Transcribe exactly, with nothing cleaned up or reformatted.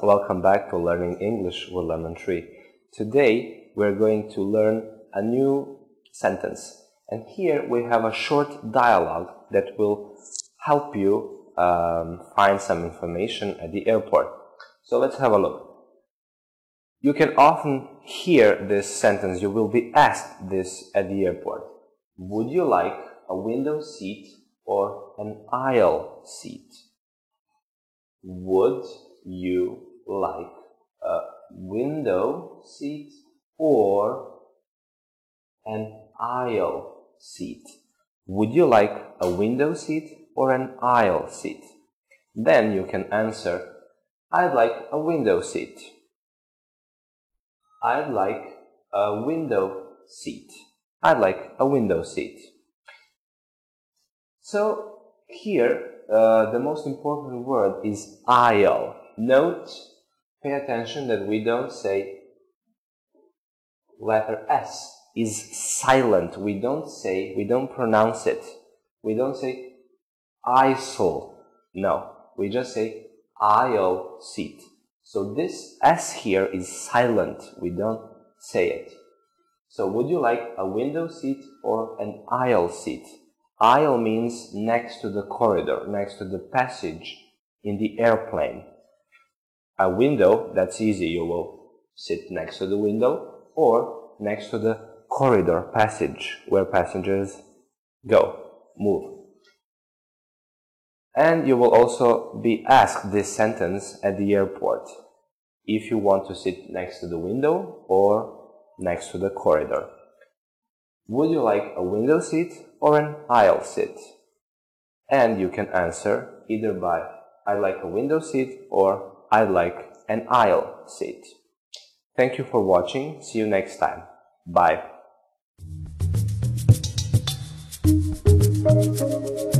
welcome back to Learning English with Lemon Tree. Today we're going to learn a new sentence, and here we have a short dialogue that will help you um, find some information at the airport. So let's have a look. You can often hear this sentence. You will be asked this at the airport. Would you like a window seat or an aisle seat? Would you like a window seat or an aisle seat? Would you like a window seat or an aisle seat? Then you can answer, I'd like a window seat. I'd like a window seat. I'd like a window seat. So here, uh, the most important word is aisle. Note, pay attention that we don't say letter S is silent. We don't say, we don't pronounce it. We don't say aisle. No, we just say aisle seat. So this S here is silent. We don't say it. So would you like a window seat or an aisle seat? Aisle means next to the corridor, next to the passage in the airplane. A window, that's easy. You will sit next to the window or next to the corridor passage where passengers go, move. And you will also be asked this sentence at the airport if you want to sit next to the window or next to the corridor. Would you like a window seat or an aisle seat? And you can answer either by I like a window seat or I like an aisle seat. Thank you for watching. See you next time. Bye.